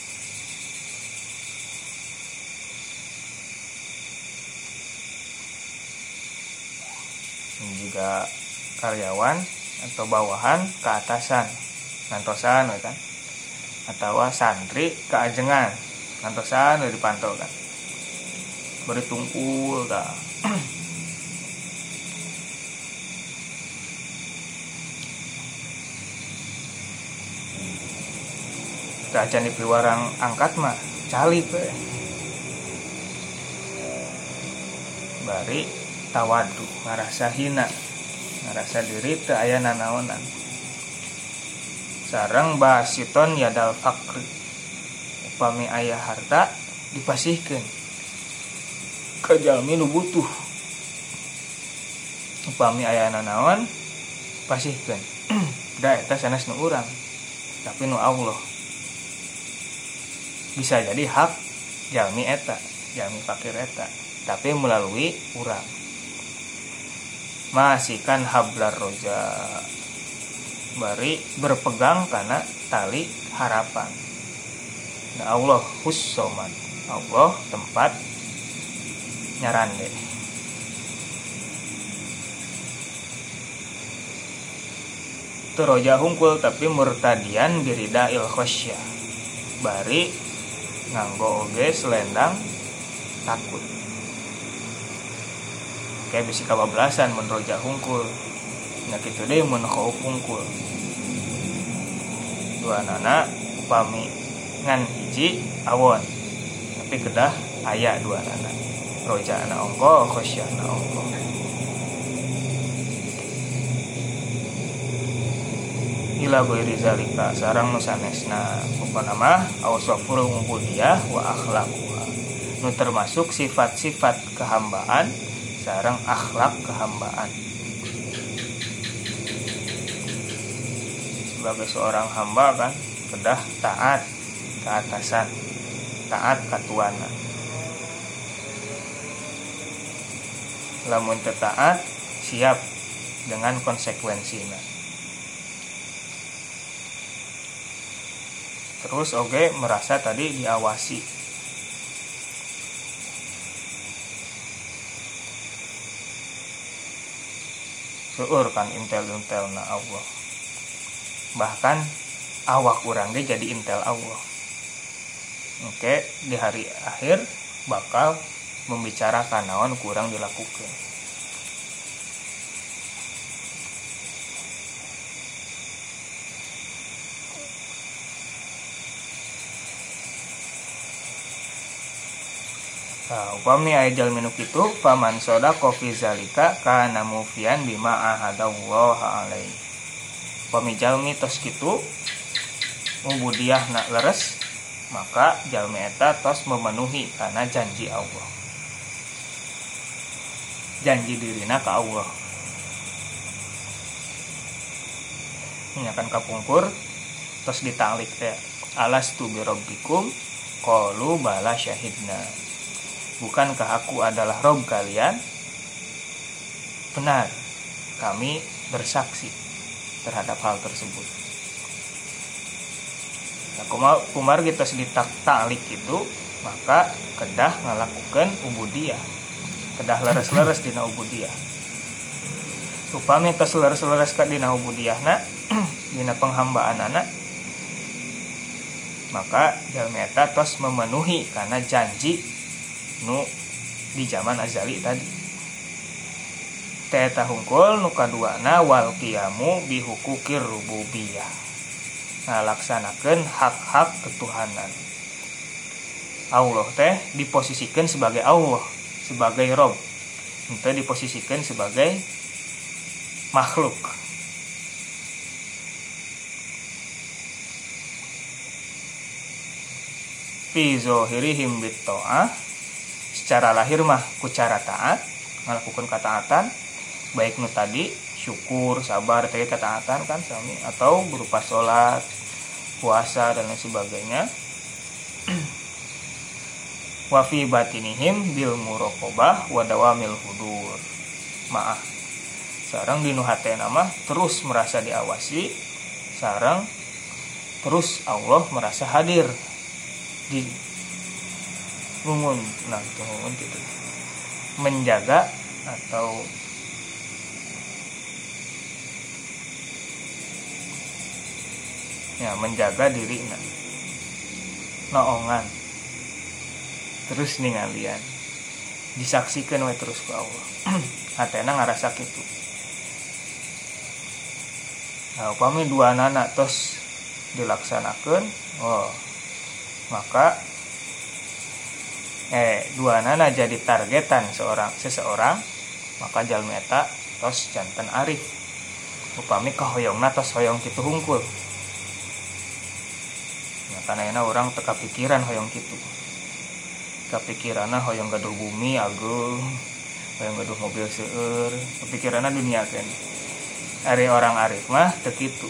[SPEAKER 2] Juga karyawan atau bawahan ke atasan ngantosan kan, atau santri ke ajengan ngantosan dipantau kan, beri tungkul kan. Acan di piwarang angkat mah calik bari tawadu, ngarasa hina, ngarasa diri teu aya nanaonan. Sareng basiton yadal fakri, upami aya harta dipasihkeun ka jalmi nu butuh. Upami aya nanaon pasihkeun. Da eta sanes nu urang, tapi nu Allah. Bisa jadi hak jalmi eta, jalmi fakir eta, tapi melalui urang. Masikan hablar roja, bari berpegang karena tali harapan. Nah, Allah hussoman, Allah tempat nyarande. Itu roja hungkul tapi murtadian birida il khosyah, bari nganggo oge selendang takut. Kayak bisi kabablasan mun roja hungkul. Nya kitu deui mun khauf hungkul. Duanana upami ngan hiji awon, tapi kedah aya duanana. Rojana ongko, khosyana ongko. Ila ghairi zalika sareng nu sanesna upana mah awsafur ubudiyah wa akhlaquha. Nu termasuk sifat-sifat kehambaan sareng akhlak kehambaan. Sebagai seorang hamba kan kedah taat ke atasan, taat ka tuana. Lamun teu taat siap dengan konsekuensina. Terus oge merasa tadi diawasi. Seueur kan intel-intelna Allah. Bahkan awak urang ge jadi intel Allah. Oke, di hari akhir bakal membicarakan naon kurang dilakukan. Nah, upami aya jalmi nu kitu faman sadaqa fi zalika kana mufian bima ahadallaha alaihi. Upami jalmi tos kitu ubudiyahna leres, maka jalmi eta tos memenuhi kana janji Allah. Janji dirina ka Allah. Nyakan kapungkur tos ditalik teh alastu bi rabbikum qalu bala syahidna. Bukankah aku adalah Rob kalian? Benar, kami bersaksi terhadap hal tersebut. Nah, kumar kita sedikit talik itu, maka kedah ngalakukan ubudiyah, kedah leres-leres dina ubudiyah. Upami tos leres-leres ka dina ubudiyahna, dina penghambaan-na, maka jalmi eta tos memenuhi karena janji nu di zaman azali tadi. Teta hungkul nu kaduana wal qiyamu bi hukukir rububiyah. ngalaksanakeun hak-hak ketuhanan. Allah teh diposisikan sebagai Allah, sebagai Rob, henteu diposisikan sebagai makhluk. Fi zohirihim bitta'ah, secara lahir mah ku cara taat, ngalakukeun kataatan, baik nu tadi syukur, sabar, teh kataatan kan sami, atau berupa sholat, puasa dan lain sebagainya. Wa fi batinihim bil muraqabah wa dawamil hudur. Maaf. Sareng dinu hatena mah terus merasa diawasi, sareng terus Allah merasa hadir di mungun, gitu. Menjaga atau menjaga diri naongan terus ningalian disaksikan we terus ku Allah. Hatena ngarasa kitu. Nah, upami dua nana tos dilaksanakeun, maka dua nana jadi targetan seseorang, maka jalmi eta tos janten arif. Upami kahoyongna tos hoyong kitu hungkul. Karena orang teka pikiran hoyong kitu, kepikiranna hoyong gaduh bumi agung, hoyong gaduh mobil seueur, kepikiranna dunia kan. Ari orang arif mah teu kitu.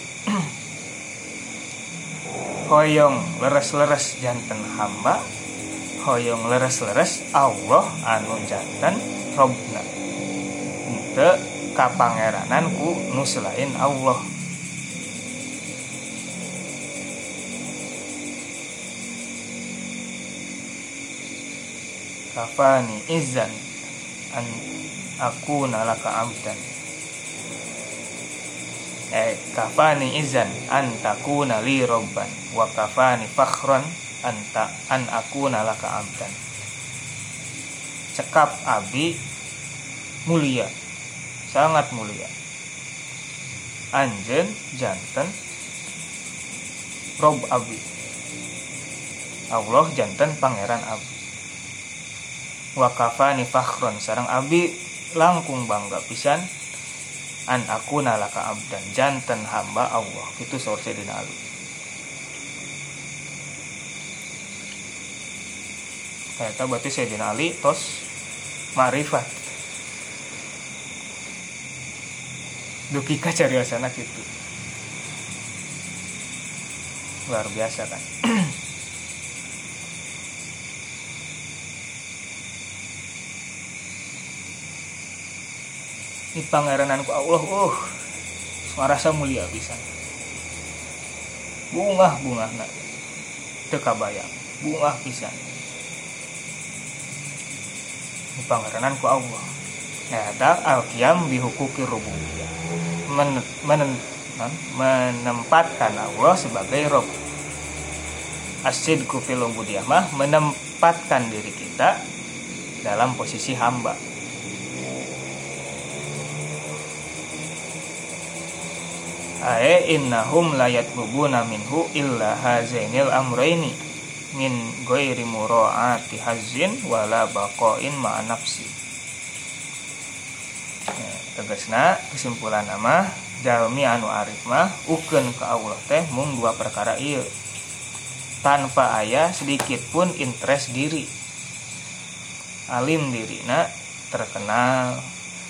[SPEAKER 2] Hoyong leres-leres janten hamba, hoyong leres-leres Allah anu janten Robna, henteu kapangeranan ku nu selain Allah. Kafani izan an aku nalaka abdan. Kafani izan an takuna li robban wa kafani fakhran an aku nalaka abdan. Cekap abi mulia, sangat mulia. Anjeun janten Rob abi. Allah janten pangeran abi. Wa kafani fakhron, sareng abi langkung bangga pisan an aku nalaka abdan, janten hamba Allah. Itu saur Sayyidina Ali. Eta berarti Sayyidina Ali tos ma'rifat duki ka cariosana kitu. Luar biasa kan. Di pangeranan ku Allah, ngarasa mulia pisan. Bungah-bungahna teu kabayang, bungah pisan. Di pangeranan ku Allah. Eta al-qiyam bi huquqir rububiyyah. Menempatkan Allah sebagai Rabb. As-sidqu fil ubudiyyah mah menempatkan diri kita dalam posisi hamba. Innahum la yatlubuna minhu illa hazainil amraini min ghairi mura'ati hazzin wala baqain ma'a nafsi. Tegasna kesimpulan mah jalmi anu arif mah ukeun ka Allah teh mung dua perkara ieu, tanpa aya sedikit pun interest diri. Alim dirina terkenal,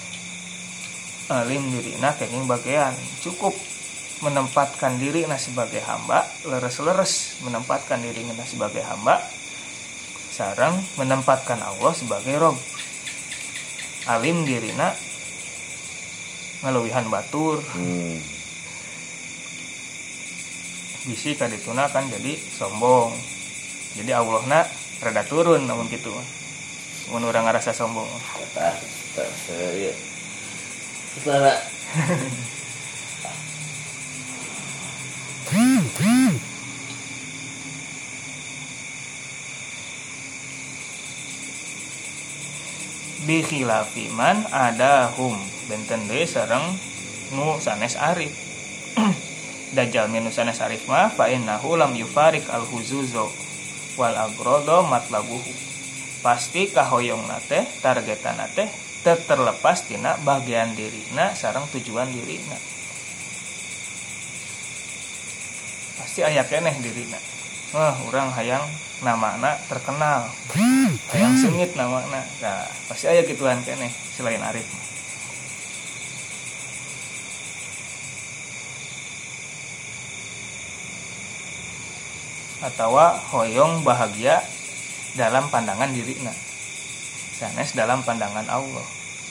[SPEAKER 2] alim dirina kenging bagian, cukup menempatkan diri sebagai hamba, leres-leres menempatkan diri sebagai hamba, sareng menempatkan Allah sebagai Rob. Alim dirina ngaluwihan batur, bisi kadituna kan jadi sombong, jadi Allahna rada turun namun gitu, mun urang ngarasa sombong.
[SPEAKER 1] Salah. Bi khilafi man adahum benten deui sareng nu sanes arif.
[SPEAKER 2] dajal minusanes arif mah fa innahu lam yufarik al huzuzo wal agrodo matlabuhu. Pasti kahoyongna teh targetana teh terlepas tina bagian dirina sareng tujuan dirina. Pasti aya keneh dirina. Urang hayang namana terkenal, hayang sengit namana. Nah, pasti aya gituan keneh selain arif. Atawa hoyong bahagia dalam pandangan dirina, sanes dalam pandangan Allah.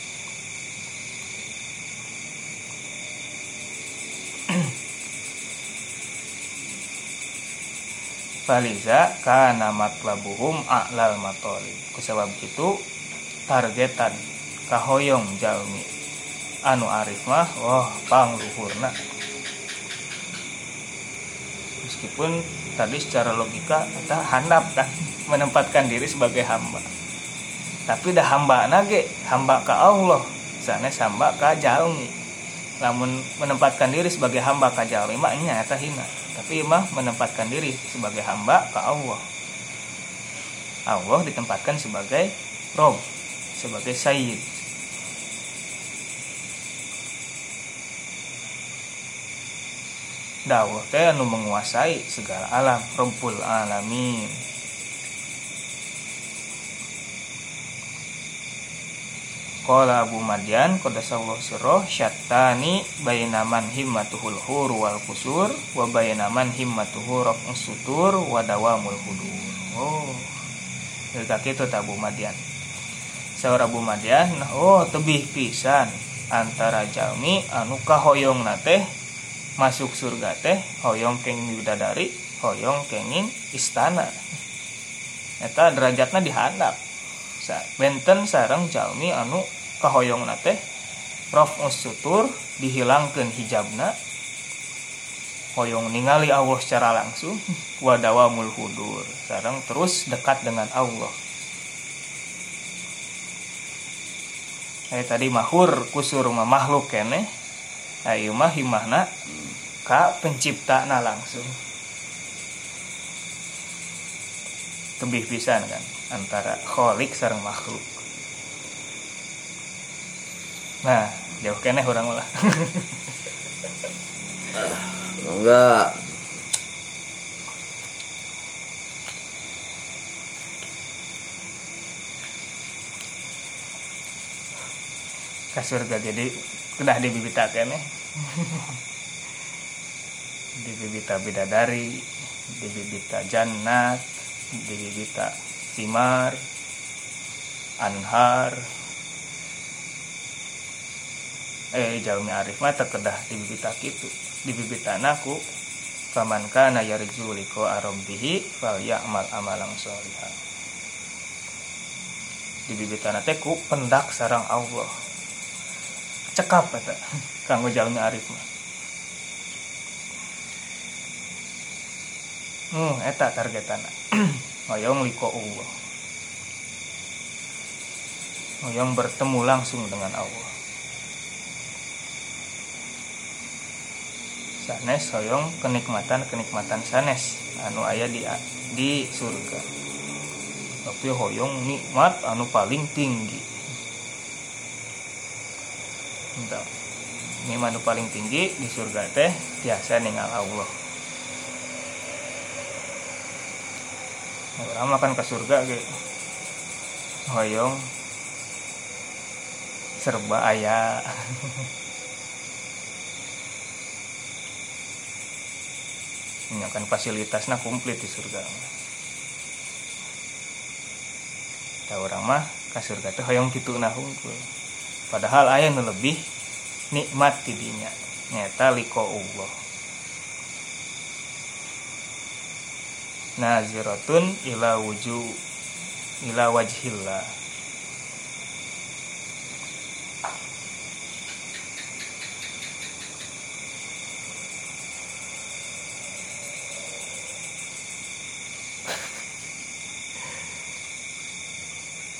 [SPEAKER 2] Faliza kana matlabuhum a'lal matolib. Kusabab itu targetan kahoyong jalmi anu arif mah pangluhurna. Meskipun tadi secara logika kita handap kan menempatkan diri sebagai hamba, tapi dah hamba nage hamba ka Allah, sanes hamba ka jalmi. Lamun menempatkan diri sebagai hamba ka jalmi mah nya eta hina, tapi mah menempatkan diri sebagai hamba ka Allah. Allah ditempatkan sebagai Rob, sebagai Sayyid. Dawah teh anu menguasai segala alam, Rabbul Alamin. Qala Abu Madyan qadasallahu sirruh syattani baina man himmatuhul hur wal qusur wa baina man himmatuhu raf'us sutur wa dawamul hudur. Eta kitu ta Abu Madyan. Saur Abu Madyan, tebih pisan antara jalmi anu kahoyongna teh masuk surga teh hoyong kenging bidadari, hoyong kenging istana. Eta derajatna dihandap. Benten sareng jalmi anu kahoyongna teh raf'us sutur, dihilangkeun hijabna, hoyong ningali Allah secara langsung, wa dawamul hudur, sareng terus dekat dengan Allah. Tadi mahur kusur mah makhluk keneh, ayeuna mah himahna ka penciptana langsung. Tebih pisan kan antara khalik sareng makhluk. Nah, jauh keneh urang ulah.
[SPEAKER 1] Enggak.
[SPEAKER 2] Ka surga jadi udah dibibita keneh. Dibibita bidadari, dibibita jannat, dibibita simar, anhar. Jalmi arif mah terkedah dibibita kitu. Dibibitana ku faman kana yarju liqa rabbih falyamal amalan sholihan. Dibibitana teh ku pendak sareng Allah. Cekap eta kanggo jalmi arif mah. Eta targetana. Hoyong liko Allah. Hoyong bertemu langsung dengan Allah. Sanes hoyong kenikmatan sanes anu aya di surga. Tapi hoyong nikmat anu paling tinggi. Entah. Nikmat anu paling tinggi di surga teh tiasa ningal Allah. Orang makan ke surga ge hoyong serba aya. Nyakan fasilitasna komplit di surga. Da urang mah ka surga teh hoyong kituna hungkul. Padahal aya nu lebih nikmat ti dinya, nyata liko Allah. Naziratun ila wajhillah.